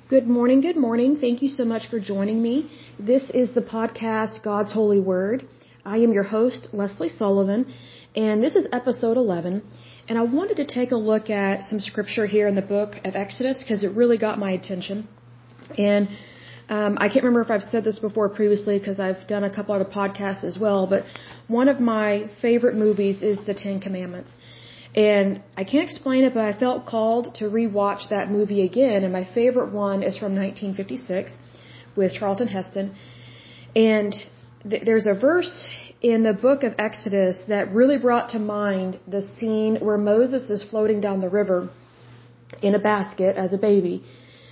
Good morning, good morning. Thank you so much for joining me. This is the podcast God's Holy Word. I am your host, Leslie Sullivan, and this is episode 11. And I wanted to take a look at some scripture here in the book of Exodus because it really got my attention. And I can't remember if I've said this before previously because I've done a couple other podcasts as well, but one of my favorite movies is The Ten Commandments. And I can't explain it, but I felt called to rewatch that movie again. And my favorite one is from 1956 with Charlton Heston. And there's a verse in the book of Exodus that really brought to mind the scene where Moses is floating down the river in a basket as a baby.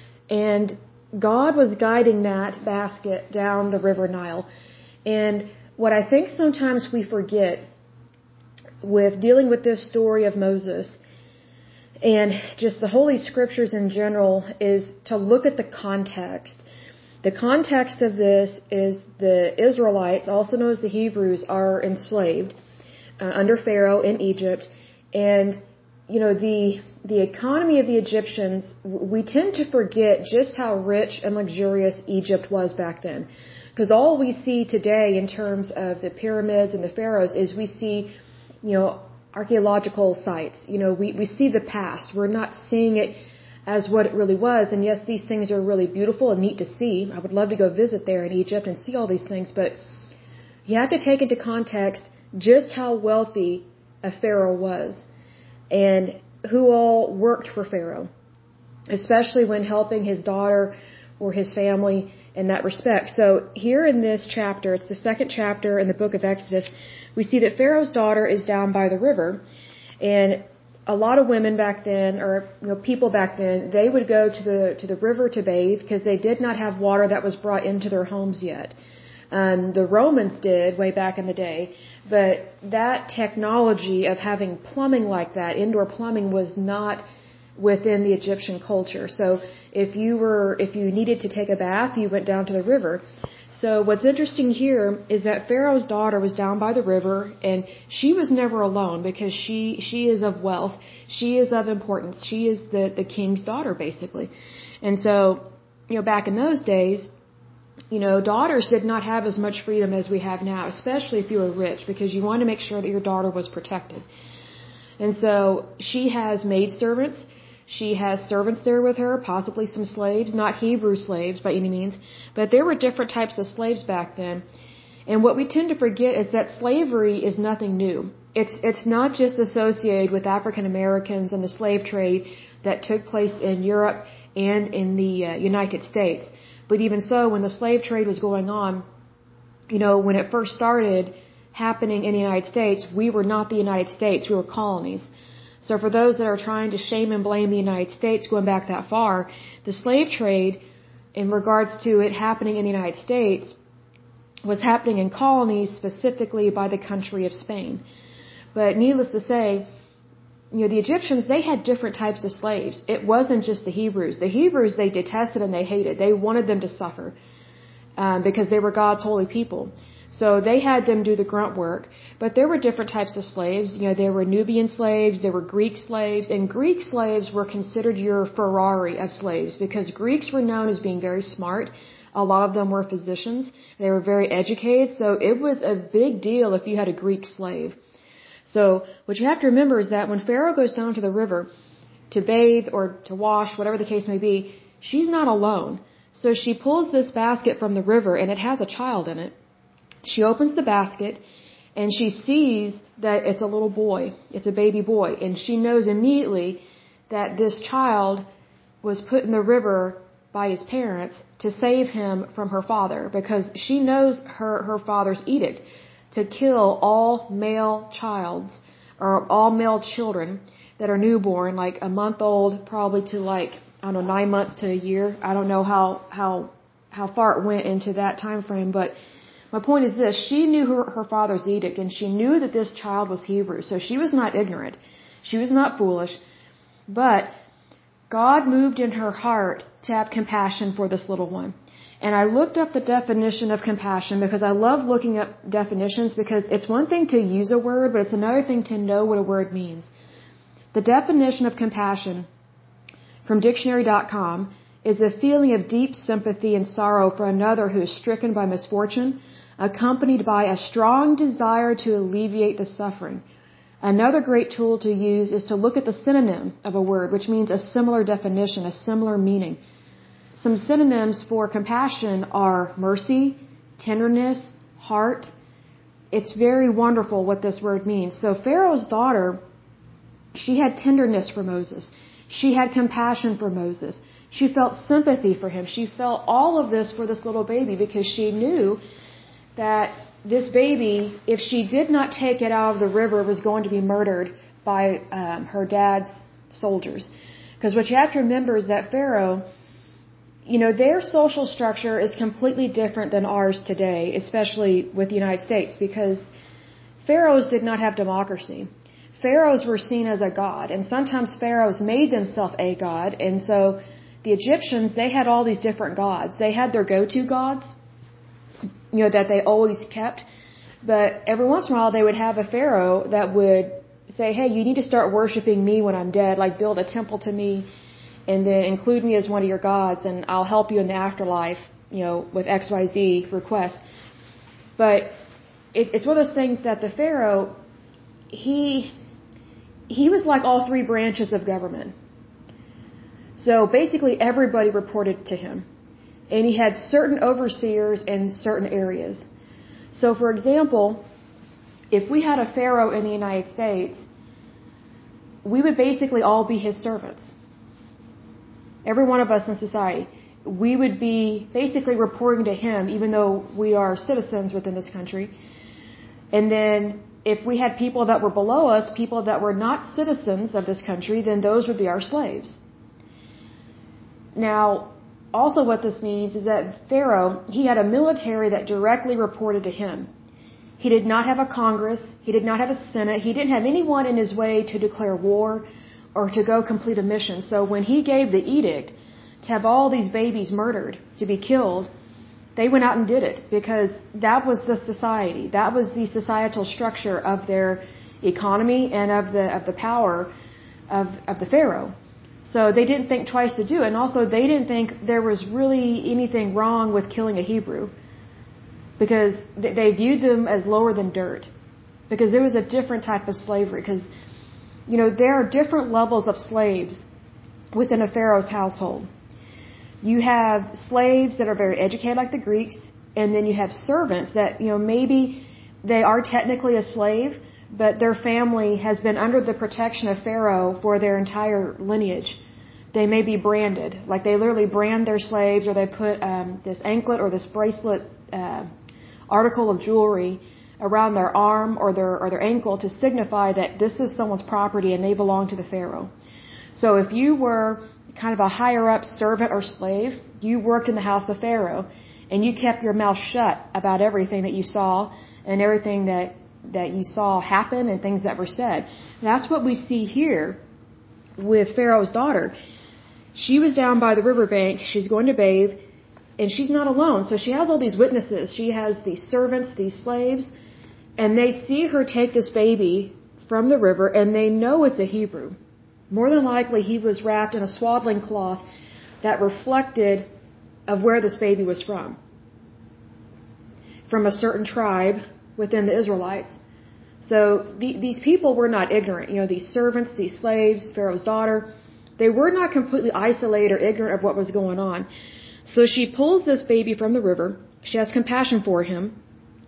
And God was guiding that basket down the river Nile. And what I think sometimes we forget with dealing with this story of Moses and just the Holy Scriptures in general is to look at the context. The context of this is the Israelites, also known as the Hebrews, are enslaved under Pharaoh in Egypt. And, you know, the economy of the Egyptians, we tend to forget just how rich and luxurious Egypt was back then. Because all we see today in terms of the pyramids and the pharaohs is we see, you know, archaeological sites. You know, we see the past. We're not seeing it as what it really was. And yes, these things are really beautiful and neat to see. I would love to go visit there in Egypt and see all these things. But you have to take into context just how wealthy a pharaoh was and who all worked for Pharaoh, especially when helping his daughter or his family in that respect. So here in this chapter, it's the second chapter in the book of Exodus, we see that Pharaoh's daughter is down by the river, and a lot of women back then, or people back then, they would go to the river to bathe because they did not have water that was brought into their homes yet. The Romans did way back in the day, but that technology of having plumbing like that, indoor plumbing, was not within the Egyptian culture. So if you needed to take a bath, you went down to the river. So what's interesting here is that Pharaoh's daughter was down by the river, and she was never alone because she is of wealth. She is of importance. She is the king's daughter, basically. And so, back in those days, daughters did not have as much freedom as we have now, especially if you were rich, because you wanted to make sure that your daughter was protected. And so she has maidservants. She has servants there with her, possibly some slaves, not Hebrew slaves by any means, but there were different types of slaves back then. And what we tend to forget is that slavery is nothing new. It's not just associated with African Americans and the slave trade that took place in Europe and in the United States. But even so, when the slave trade was going on, when it first started happening in the United States, we were not the United States, we were colonies. So for those that are trying to shame and blame the United States going back that far, the slave trade, in regards to it happening in the United States, was happening in colonies, specifically by the country of Spain. But needless to say, the Egyptians, they had different types of slaves. It wasn't just the Hebrews. The Hebrews, they detested and they hated. They wanted them to suffer because they were God's holy people. So they had them do the grunt work, but there were different types of slaves. There were Nubian slaves, there were Greek slaves, and Greek slaves were considered your Ferrari of slaves because Greeks were known as being very smart. A lot of them were physicians. They were very educated, so it was a big deal if you had a Greek slave. So what you have to remember is that when Pharaoh goes down to the river to bathe or to wash, whatever the case may be, she's not alone. So she pulls this basket from the river, and it has a child in it. She opens the basket and she sees that it's a little boy. It's a baby boy. And she knows immediately that this child was put in the river by his parents to save him from her father, because she knows her father's edict to kill all male children that are newborn, like a month old, probably to 9 months to a year. I don't know how far it went into that time frame, but my point is this: she knew her father's edict, and she knew that this child was Hebrew, so she was not ignorant. She was not foolish, but God moved in her heart to have compassion for this little one. And I looked up the definition of compassion because I love looking up definitions, because it's one thing to use a word, but it's another thing to know what a word means. The definition of compassion from dictionary.com is a feeling of deep sympathy and sorrow for another who is stricken by misfortune, accompanied by a strong desire to alleviate the suffering. Another great tool to use is to look at the synonym of a word, which means a similar definition, a similar meaning. Some synonyms for compassion are mercy, tenderness, heart. It's very wonderful what this word means. So Pharaoh's daughter, she had tenderness for Moses. She had compassion for Moses. She felt sympathy for him. She felt all of this for this little baby because she knew that this baby, if she did not take it out of the river, was going to be murdered by her dad's soldiers. Because what you have to remember is that Pharaoh, their social structure is completely different than ours today, especially with the United States, because pharaohs did not have democracy. Pharaohs were seen as a god, and sometimes pharaohs made themselves a god, and so the Egyptians, they had all these different gods. They had their go-to gods, that they always kept, but every once in a while they would have a pharaoh that would say, hey, you need to start worshiping me when I'm dead, like build a temple to me, and then include me as one of your gods, and I'll help you in the afterlife, with XYZ requests. But it's one of those things that the pharaoh, he was like all three branches of government. So basically everybody reported to him. And he had certain overseers in certain areas. So for example, if we had a pharaoh in the United States, we would basically all be his servants. Every one of us in society. We would be basically reporting to him, even though we are citizens within this country. And then if we had people that were below us, people that were not citizens of this country, then those would be our slaves. Now, also what this means is that Pharaoh, he had a military that directly reported to him. He did not have a Congress. He did not have a Senate. He didn't have anyone in his way to declare war or to go complete a mission. So when he gave the edict to have all these babies murdered, to be killed, they went out and did it because that was the society. That was the societal structure of their economy and of the power of the Pharaoh. So they didn't think twice to do it. And also they didn't think there was really anything wrong with killing a Hebrew because they viewed them as lower than dirt because there was a different type of slavery because, there are different levels of slaves within a Pharaoh's household. You have slaves that are very educated like the Greeks, and then you have servants that, maybe they are technically a slave, but their family has been under the protection of Pharaoh for their entire lineage. They may be branded, like they literally brand their slaves, or they put this anklet or this bracelet article of jewelry around their arm or their ankle to signify that this is someone's property and they belong to the Pharaoh. So if you were kind of a higher up servant or slave, you worked in the house of Pharaoh, and you kept your mouth shut about everything that you saw and everything that you saw happen and things that were said. That's what we see here with Pharaoh's daughter. She was down by the riverbank. She's going to bathe, and she's not alone. So she has all these witnesses. She has these servants, these slaves, and they see her take this baby from the river, and they know it's a Hebrew. More than likely, he was wrapped in a swaddling cloth that reflected of where this baby was from a certain tribe within the Israelites. So these people were not ignorant. These servants, these slaves, Pharaoh's daughter, they were not completely isolated or ignorant of what was going on. So she pulls this baby from the river. She has compassion for him.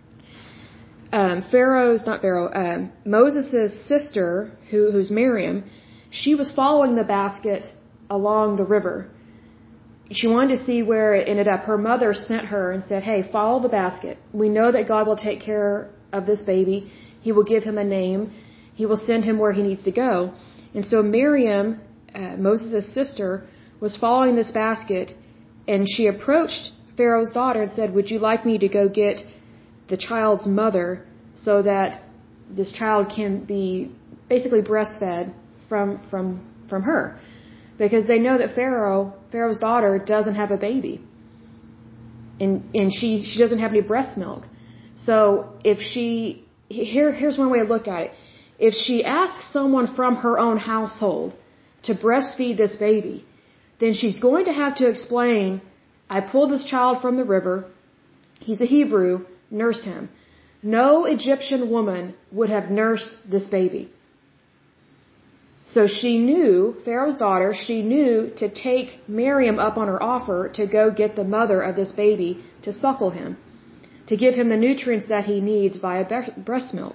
Moses' sister, who's Miriam, she was following the basket along the river. She wanted to see where it ended up. Her mother sent her and said, hey, follow the basket. We know that God will take care of this baby. He will give him a name. He will send him where he needs to go. And so Miriam, Moses' sister, was following this basket, and she approached Pharaoh's daughter and said, would you like me to go get the child's mother so that this child can be basically breastfed from her? Because they know that Pharaoh's daughter doesn't have a baby. And she doesn't have any breast milk. So here's one way to look at it. If she asks someone from her own household to breastfeed this baby, then she's going to have to explain, I pulled this child from the river. He's a Hebrew. Nurse him. No Egyptian woman would have nursed this baby. So she knew, Pharaoh's daughter, she knew to take Miriam up on her offer to go get the mother of this baby to suckle him, to give him the nutrients that he needs via breast milk.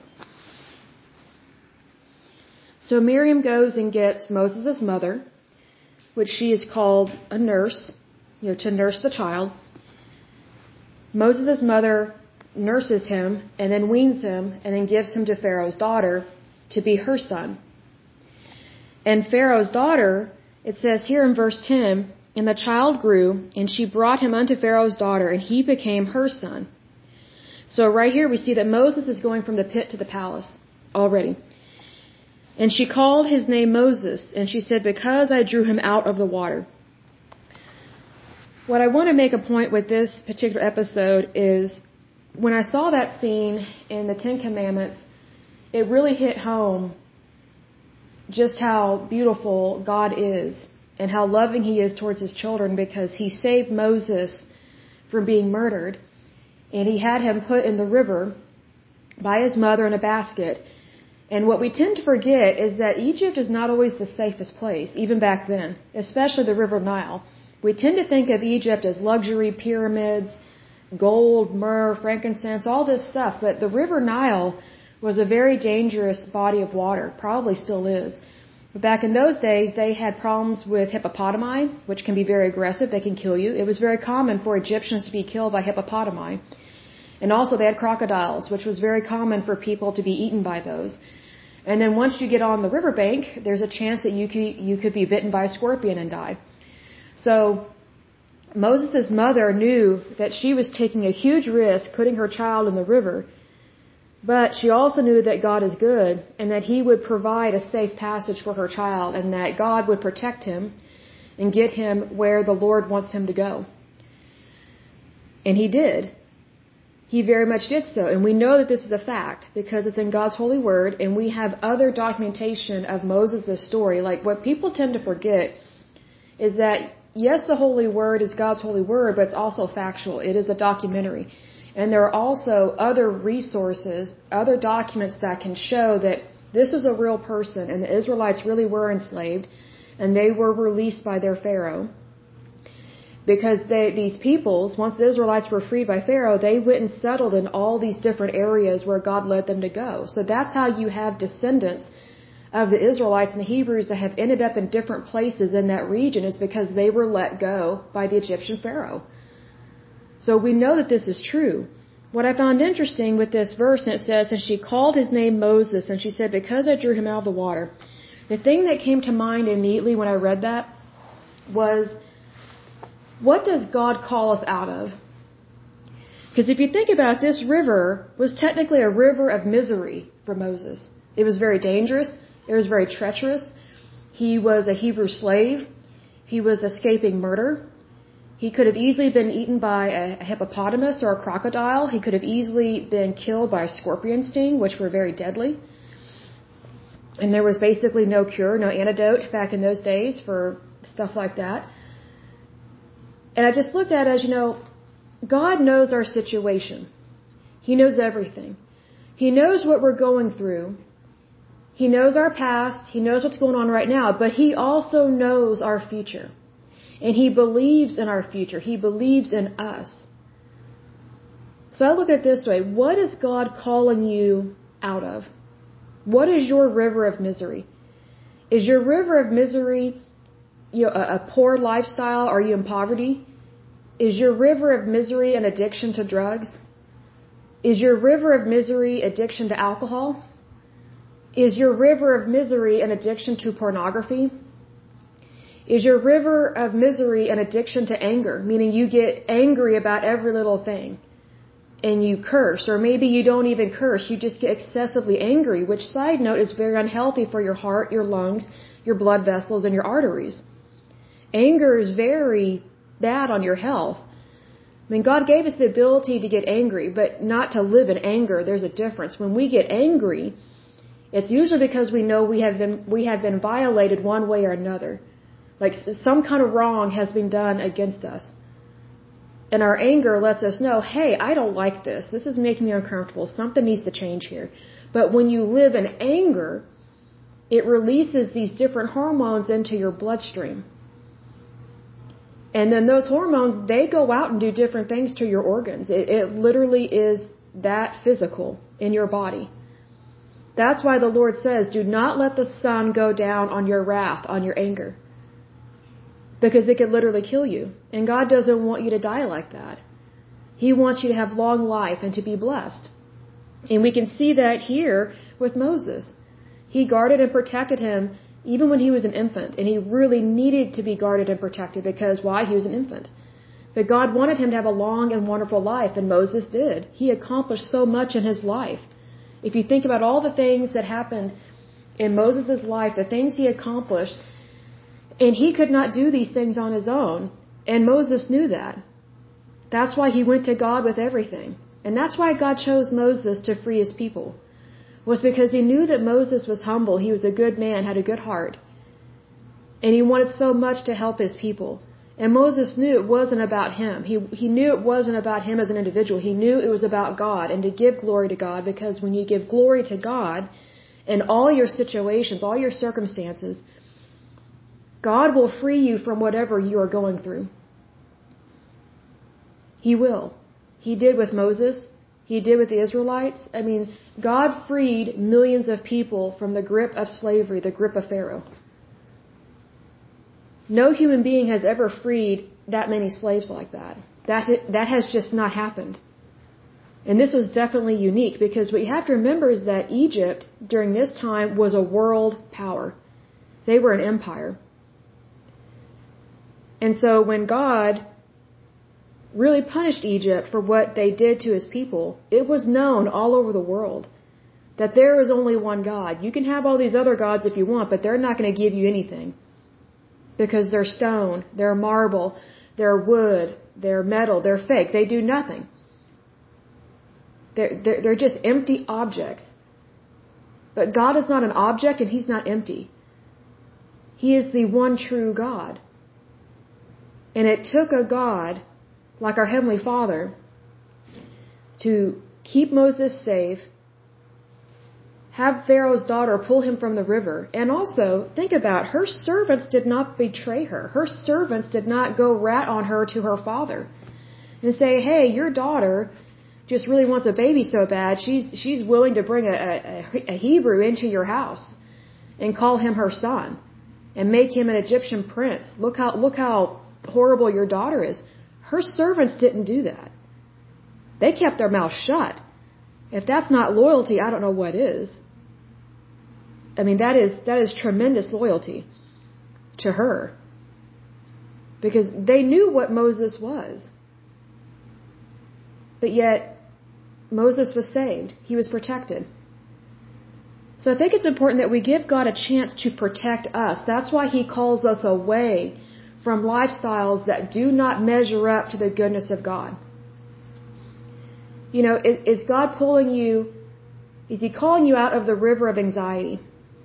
So Miriam goes and gets Moses' mother, which she is called a nurse, to nurse the child. Moses' mother nurses him and then weans him and then gives him to Pharaoh's daughter to be her son. And Pharaoh's daughter, it says here in verse 10, and the child grew, and she brought him unto Pharaoh's daughter, and he became her son. So right here we see that Moses is going from the pit to the palace already. And she called his name Moses, and she said, because I drew him out of the water. What I want to make a point with this particular episode is, when I saw that scene in the Ten Commandments, it really hit home just how beautiful God is and how loving He is towards His children, because He saved Moses from being murdered, and He had him put in the river by his mother in a basket. And what we tend to forget is that Egypt is not always the safest place, even back then, especially the River Nile. We tend to think of Egypt as luxury, pyramids, gold, myrrh, frankincense, all this stuff, but the River Nile was a very dangerous body of water, probably still is. But back in those days, they had problems with hippopotami, which can be very aggressive. They can kill you. It was very common for Egyptians to be killed by hippopotami. And also they had crocodiles, which was very common for people to be eaten by those. And then once you get on the riverbank, there's a chance that you could be bitten by a scorpion and die. So Moses' mother knew that she was taking a huge risk putting her child in the river, but she also knew that God is good and that He would provide a safe passage for her child, and that God would protect him and get him where the Lord wants him to go. And He did. He very much did so. And we know that this is a fact because it's in God's holy word, and we have other documentation of Moses' story. Like, what people tend to forget is that, yes, the holy word is God's holy word, but it's also factual. It is a documentary. And there are also other resources, other documents that can show that this was a real person and the Israelites really were enslaved and they were released by their Pharaoh. Because these peoples, once the Israelites were freed by Pharaoh, they went and settled in all these different areas where God led them to go. So that's how you have descendants of the Israelites and the Hebrews that have ended up in different places in that region, is because they were let go by the Egyptian Pharaoh. So we know that this is true. What I found interesting with this verse, and it says, and she called his name Moses, and she said, because I drew him out of the water. The thing that came to mind immediately when I read that was, what does God call us out of? Because if you think about it, this river was technically a river of misery for Moses. It was very dangerous. It was very treacherous. He was a Hebrew slave. He was escaping murder. He could have easily been eaten by a hippopotamus or a crocodile. He could have easily been killed by a scorpion sting, which were very deadly. And there was basically no cure, no antidote back in those days for stuff like that. And I just looked at it as, God knows our situation. He knows everything. He knows what we're going through. He knows our past. He knows what's going on right now. But He also knows our future. And He believes in our future. He believes in us. So I look at it this way. What is God calling you out of? What is your river of misery? Is your river of misery a poor lifestyle? Are you in poverty? Is your river of misery an addiction to drugs? Is your river of misery addiction to alcohol? Is your river of misery an addiction to pornography? Is your river of misery an addiction to anger, meaning you get angry about every little thing and you curse? Or maybe you don't even curse, you just get excessively angry, which, side note, is very unhealthy for your heart, your lungs, your blood vessels, and your arteries. Anger is very bad on your health. I mean, God gave us the ability to get angry, but not to live in anger. There's a difference. When we get angry, it's usually because we know we have been violated one way or another. Like some kind of wrong has been done against us. And our anger lets us know, hey, I don't like this. This is making me uncomfortable. Something needs to change here. But when you live in anger, it releases these different hormones into your bloodstream. And then those hormones, they go out and do different things to your organs. It literally is that physical in your body. That's why the Lord says, do not let the sun go down on your wrath, on your anger. Because it could literally kill you. And God doesn't want you to die like that. He wants you to have long life and to be blessed. And we can see that here with Moses. He guarded and protected him even when he was an infant. And he really needed to be guarded and protected because why? He was an infant. But God wanted him to have a long and wonderful life, and Moses did. He accomplished so much in his life. If you think about all the things that happened in Moses' life, the things he accomplished, and he could not do these things on his own, and Moses knew that. That's why he went to God with everything. And that's why God chose Moses to free his people. Was because he knew that Moses was humble, he was a good man, had a good heart. And he wanted so much to help his people. And Moses knew it wasn't about him. He knew it wasn't about him as an individual. He knew it was about God and to give glory to God, because when you give glory to God in all your situations, all your circumstances, God will free you from whatever you are going through. He will. He did with Moses. He did with the Israelites. I mean, God freed millions of people from the grip of slavery, the grip of Pharaoh. No human being has ever freed that many slaves like that. That has just not happened. And this was definitely unique, because what you have to remember is that Egypt during this time was a world power. They were an empire. And so when God really punished Egypt for what they did to his people, it was known all over the world that there is only one God. You can have all these other gods if you want, but they're not going to give you anything. Because they're stone, they're marble, they're wood, they're metal, they're fake. They do nothing. They're just empty objects. But God is not an object, and he's not empty. He is the one true God. And it took a God like our Heavenly Father to keep Moses safe, have Pharaoh's daughter pull him from the river, and also, think about, her servants did not betray her. Her servants did not go rat on her to her father and say, hey, your daughter just really wants a baby so bad, she's willing to bring a Hebrew into your house and call him her son and make him an Egyptian prince. Look how horrible your daughter is. Her servants didn't do that. They kept their mouth shut. If that's not loyalty, I don't know what is. I mean, that is tremendous loyalty to her. Because they knew what Moses was. But yet, Moses was saved. He was protected. So I think it's important that we give God a chance to protect us. That's why he calls us away from lifestyles that do not measure up to the goodness of God. You know, is God pulling you, is he calling you out of the river of anxiety?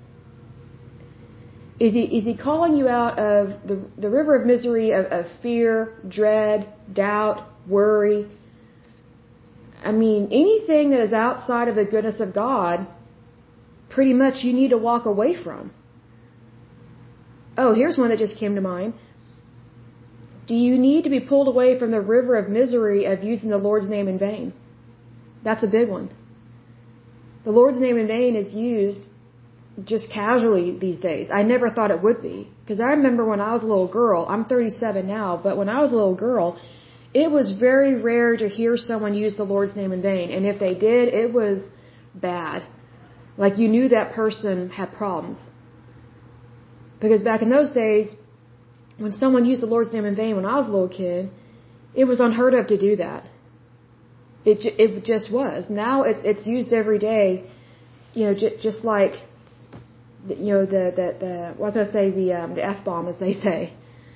Is he calling you out of the river of misery, of fear, dread, doubt, worry? I mean, anything that is outside of the goodness of God, pretty much you need to walk away from. Oh, here's one that just came to mind. Do you need to be pulled away from the river of misery of using the Lord's name in vain? That's a big one. The Lord's name in vain is used just casually these days. I never thought it would be. Because I remember when I was a little girl, I'm 37 now, but when I was a little girl, it was very rare to hear someone use the Lord's name in vain. And if they did, it was bad. Like you knew that person had problems. Because back in those days, when someone used the Lord's name in vain when I was a little kid, it was unheard of to do that. It just was. Now it's used every day, you know, just like, you know, the F-bomb, as they say.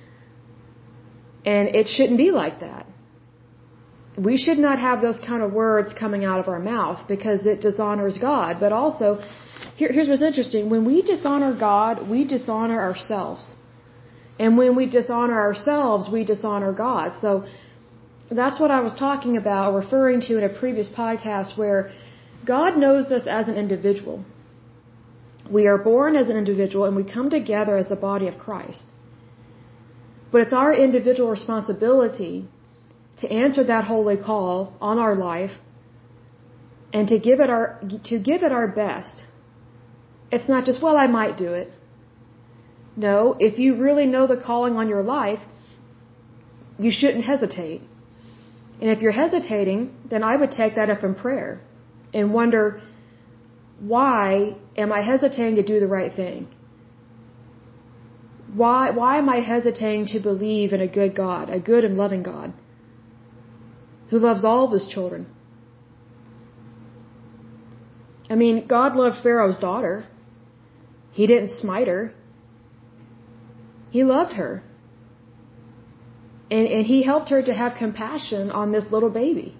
And it shouldn't be like that. We should not have those kind of words coming out of our mouth because it dishonors God. But also, here's what's interesting. When we dishonor God, we dishonor ourselves. And when we dishonor ourselves, we dishonor God. So that's what I was talking about, referring to in a previous podcast, where God knows us as an individual. We are born as an individual and we come together as the body of Christ. But it's our individual responsibility to answer that holy call on our life and to give it our best. It's not just, well, I might do it. No, if you really know the calling on your life, you shouldn't hesitate. And if you're hesitating, then I would take that up in prayer and wonder, why am I hesitating to do the right thing? Why am I hesitating to believe in a good God, a good and loving God, who loves all of his children? I mean, God loved Pharaoh's daughter. He didn't smite her. He loved her. And he helped her to have compassion on this little baby.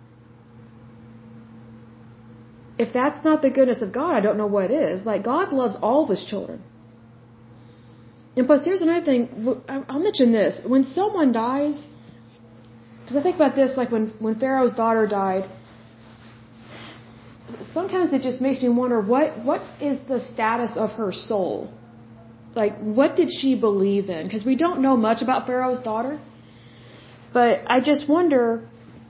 If that's not the goodness of God, I don't know what is. Like, God loves all of his children. And plus, here's another thing. I'll mention this. When someone dies, because I think about this, like when Pharaoh's daughter died, sometimes it just makes me wonder, what is the status of her soul? Like, what did she believe in? Because we don't know much about Pharaoh's daughter. But I just wonder,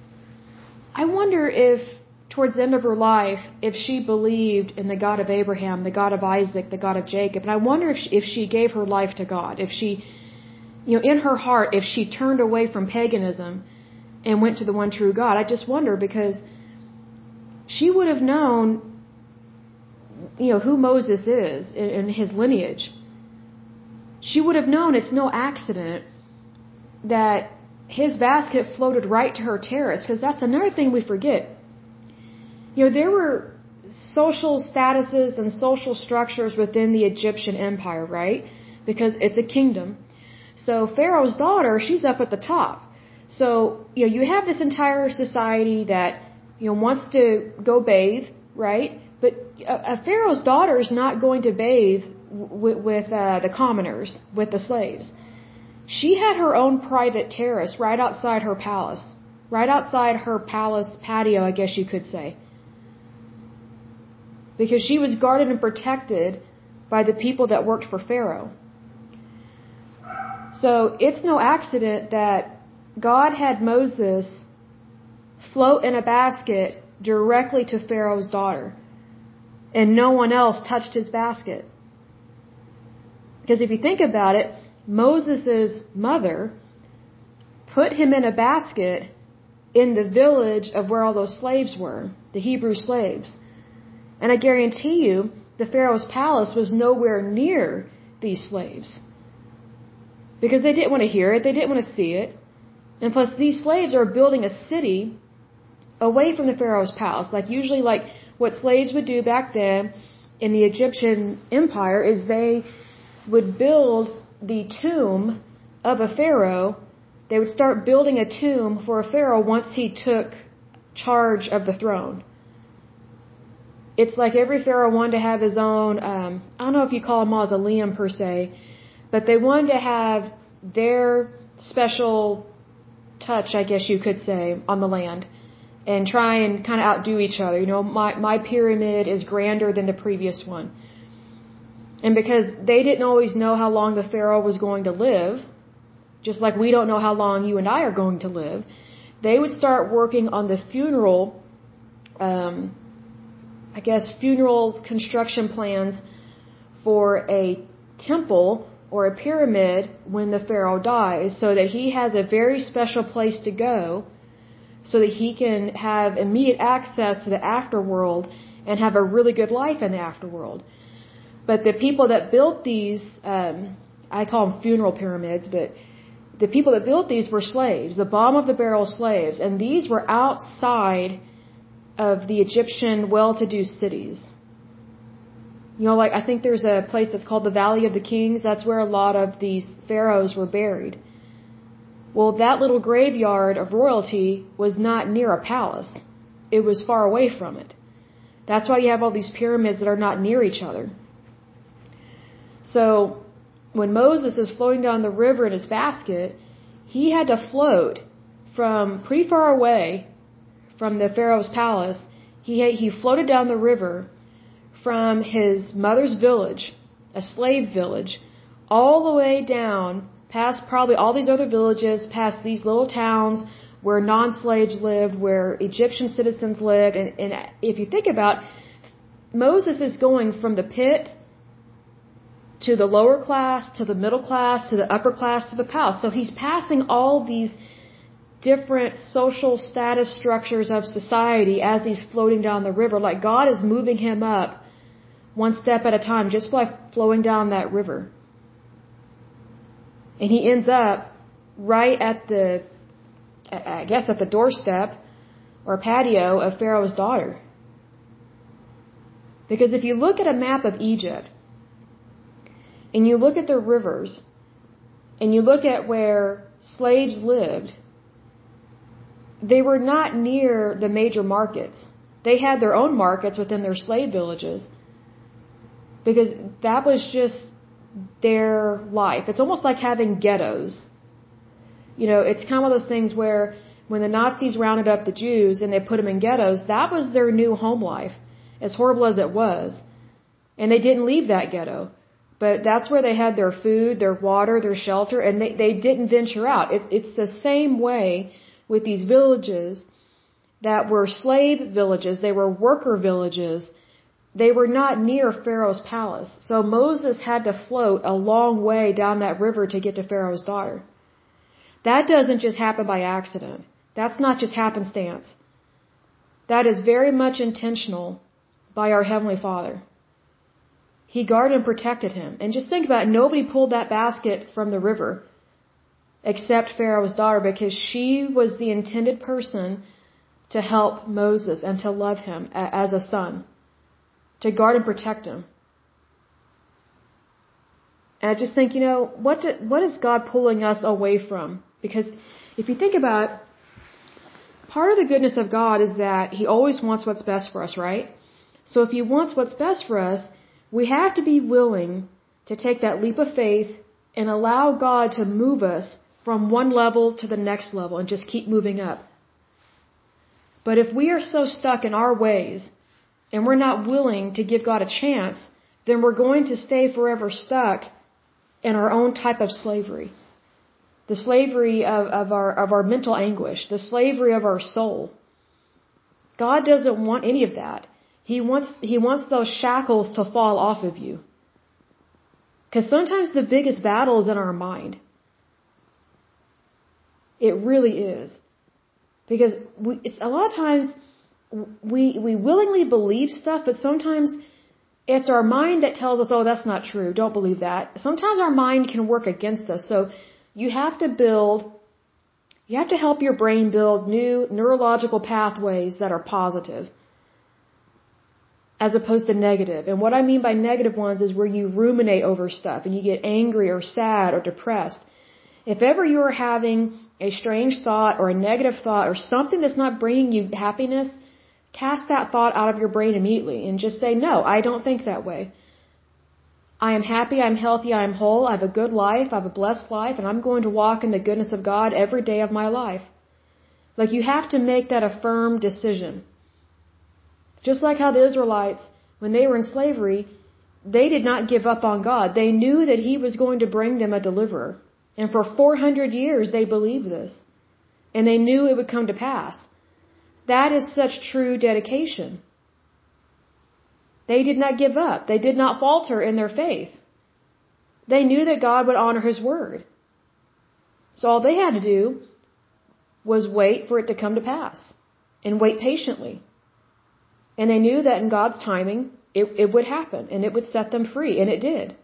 if towards the end of her life, if she believed in the God of Abraham, the God of Isaac, the God of Jacob, and I wonder if she gave her life to God, if she, in her heart, if she turned away from paganism and went to the one true God. I just wonder, because she would have known, who Moses is in his lineage. She would have known it's no accident that his basket floated right to her terrace, because that's another thing we forget. There were social statuses and social structures within the Egyptian empire, right? Because it's a kingdom. So Pharaoh's daughter, she's up at the top. So, you have this entire society that, wants to go bathe, right? But a Pharaoh's daughter is not going to bathe with the commoners, with the slaves. She had her own private terrace right outside her palace. Right outside her palace patio, I guess you could say. Because she was guarded and protected by the people that worked for Pharaoh. So it's no accident that God had Moses float in a basket directly to Pharaoh's daughter, and no one else touched his basket. Because if you think about it, Moses' mother put him in a basket in the village of where all those slaves were, the Hebrew slaves. And I guarantee you, the Pharaoh's palace was nowhere near these slaves. Because they didn't want to hear it, they didn't want to see it. And plus, these slaves are building a city away from the Pharaoh's palace. Usually what slaves would do back then in the Egyptian empire is they would build the tomb of a pharaoh. They would start building a tomb for a pharaoh once he took charge of the throne. It's like every pharaoh wanted to have his own, I don't know if you call a mausoleum per se, but they wanted to have their special touch, I guess you could say, on the land, and try and kind of outdo each other. My pyramid is grander than the previous one. And because they didn't always know how long the pharaoh was going to live, just like we don't know how long you and I are going to live, they would start working on the funeral construction plans for a temple or a pyramid when the pharaoh dies, so that he has a very special place to go, so that he can have immediate access to the afterworld and have a really good life in the afterworld. But the people that built these, I call them funeral pyramids, but the people that built these were slaves, the bottom of the barrel slaves, and these were outside of the Egyptian well-to-do cities. I think there's a place that's called the Valley of the Kings. That's where a lot of these pharaohs were buried. Well, that little graveyard of royalty was not near a palace. It was far away from it. That's why you have all these pyramids that are not near each other. So, when Moses is floating down the river in his basket, he had to float from pretty far away from the Pharaoh's palace. He floated down the river from his mother's village, a slave village, all the way down past probably all these other villages, past these little towns where non-slaves lived, where Egyptian citizens lived. And if you think about, Moses is going from the pit to the lower class, to the middle class, to the upper class, to the palace. So he's passing all these different social status structures of society as he's floating down the river. Like God is moving him up one step at a time just by flowing down that river. And he ends up right at the doorstep or patio of Pharaoh's daughter. Because if you look at a map of Egypt, and you look at the rivers, and you look at where slaves lived, they were not near the major markets. They had their own markets within their slave villages, because that was just their life. It's almost like having ghettos. You know, it's kind of one of those things where when the Nazis rounded up the Jews and they put them in ghettos, that was their new home life, as horrible as it was. And they didn't leave that ghetto. But that's where they had their food, their water, their shelter, and they didn't venture out. It's the same way with these villages that were slave villages. They were worker villages. They were not near Pharaoh's palace. So Moses had to float a long way down that river to get to Pharaoh's daughter. That doesn't just happen by accident. That's not just happenstance. That is very much intentional by our Heavenly Father. He guarded and protected him. And just think about it, nobody pulled that basket from the river except Pharaoh's daughter, because she was the intended person to help Moses and to love him as a son, to guard and protect him. And I just think, you know, what is God pulling us away from? Because if you think about it, part of the goodness of God is that He always wants what's best for us, right? So if He wants what's best for us, we have to be willing to take that leap of faith and allow God to move us from one level to the next level and just keep moving up. But if we are so stuck in our ways and we're not willing to give God a chance, then we're going to stay forever stuck in our own type of slavery. The slavery of our mental anguish, the slavery of our soul. God doesn't want any of that. He wants those shackles to fall off of you. Because sometimes the biggest battle is in our mind. It really is. Because a lot of times we willingly believe stuff, but sometimes it's our mind that tells us, oh, that's not true, don't believe that. Sometimes our mind can work against us. So you have to help your brain build new neurological pathways that are positive, as opposed to negative. And what I mean by negative ones is where you ruminate over stuff and you get angry or sad or depressed. If ever you're having a strange thought or a negative thought or something that's not bringing you happiness, cast that thought out of your brain immediately and just say, no, I don't think that way. I am happy, I'm healthy, I'm whole, I have a good life, I have a blessed life, and I'm going to walk in the goodness of God every day of my life. Like, you have to make that a firm decision. Just like how the Israelites, when they were in slavery, they did not give up on God. They knew that He was going to bring them a deliverer. And for 400 years they believed this. And they knew it would come to pass. That is such true dedication. They did not give up. They did not falter in their faith. They knew that God would honor His word. So all they had to do was wait for it to come to pass. And wait patiently. And they knew that in God's timing, it would happen. And it would set them free. And it did.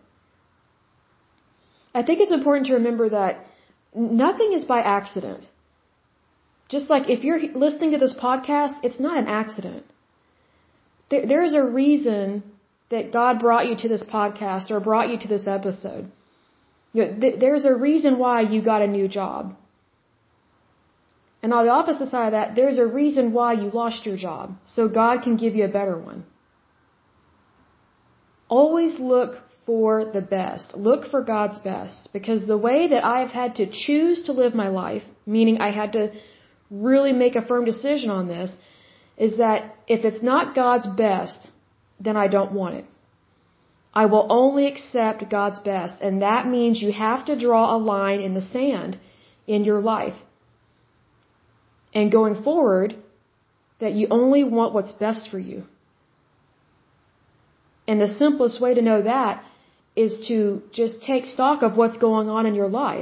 I think it's important to remember that nothing is by accident. Just like if you're listening to this podcast, it's not an accident. There is a reason that God brought you to this podcast or brought you to this episode. You know, there's a reason why you got a new job. And on the opposite side of that, there's a reason why you lost your job. So God can give you a better one. Always look for the best. Look for God's best. Because the way that I've had to choose to live my life, meaning I had to really make a firm decision on this, is that if it's not God's best, then I don't want it. I will only accept God's best. And that means you have to draw a line in the sand in your life. And going forward, that you only want what's best for you. And the simplest way to know that is to just take stock of what's going on in your life.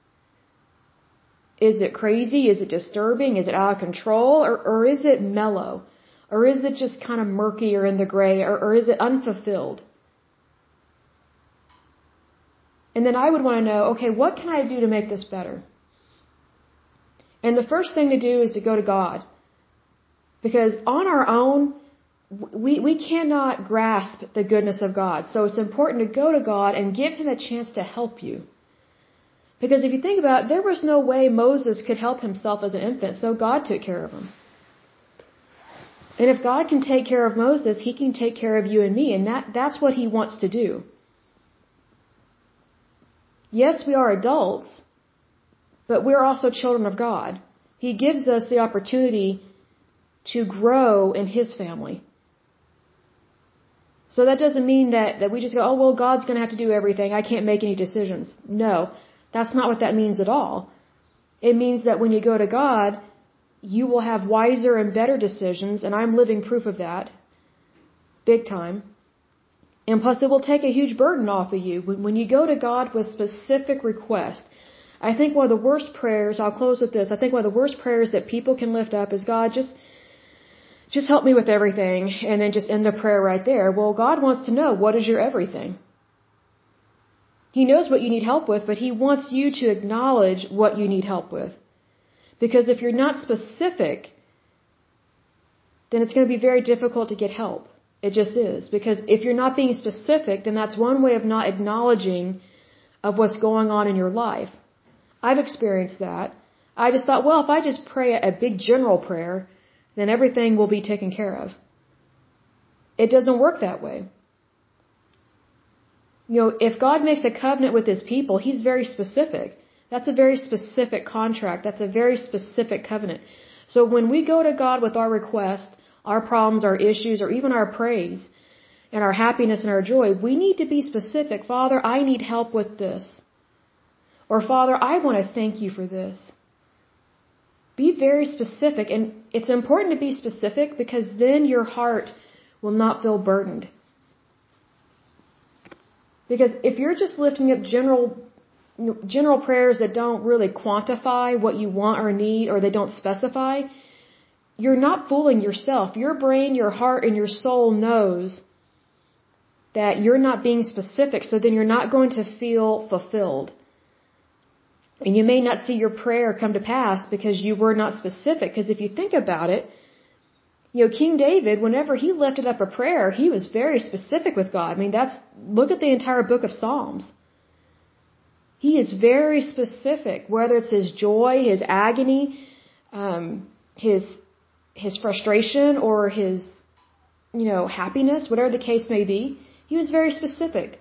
Is it crazy? Is it disturbing? Is it out of control? Or is it mellow? Or is it just kind of murky or in the gray? Or is it unfulfilled? And then I would want to know, okay, what can I do to make this better? And the first thing to do is to go to God. Because on our own, we cannot grasp the goodness of God. So it's important to go to God and give Him a chance to help you. Because if you think about it, there was no way Moses could help himself as an infant, so God took care of him. And if God can take care of Moses, He can take care of you and me, and that's what He wants to do. Yes, we are adults, but we're also children of God. He gives us the opportunity to grow in His family. So that doesn't mean that we just go, oh, well, God's going to have to do everything. I can't make any decisions. No, that's not what that means at all. It means that when you go to God, you will have wiser and better decisions, and I'm living proof of that. Big time. And plus, it will take a huge burden off of you. When you go to God with specific requests, I think one of the worst prayers, I'll close with this, I think one of the worst prayers that people can lift up is, God, just help me with everything, and then just end the prayer right there. Well, God wants to know, what is your everything? He knows what you need help with, but He wants you to acknowledge what you need help with. Because if you're not specific, then it's going to be very difficult to get help. It just is. Because if you're not being specific, then that's one way of not acknowledging of what's going on in your life. I've experienced that. I just thought, well, if I just pray a big general prayer, then everything will be taken care of. It doesn't work that way. You know, if God makes a covenant with His people, He's very specific. That's a very specific contract. That's a very specific covenant. So when we go to God with our request, our problems, our issues, or even our praise, and our happiness and our joy, we need to be specific. Father, I need help with this. Or Father, I want to thank you for this. Be very specific. And it's important to be specific because then your heart will not feel burdened. Because if you're just lifting up general prayers that don't really quantify what you want or need, or they don't specify, you're not fooling yourself. Your brain, your heart, and your soul knows that you're not being specific, so then you're not going to feel fulfilled. And you may not see your prayer come to pass because you were not specific. Because if you think about it, you know, King David, whenever he lifted up a prayer, he was very specific with God. I mean, look at the entire book of Psalms. He is very specific, whether it's his joy, his agony, his frustration, or his, happiness, whatever the case may be. He was very specific.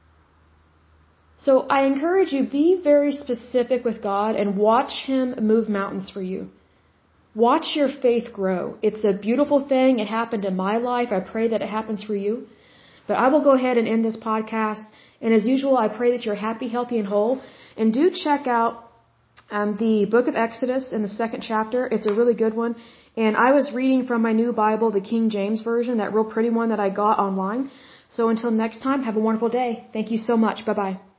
So I encourage you, be very specific with God and watch Him move mountains for you. Watch your faith grow. It's a beautiful thing. It happened in my life. I pray that it happens for you. But I will go ahead and end this podcast. And as usual, I pray that you're happy, healthy, and whole. And do check out the book of Exodus in the 2nd chapter. It's a really good one. And I was reading from my new Bible, the King James Version, that real pretty one that I got online. So until next time, have a wonderful day. Thank you so much. Bye-bye.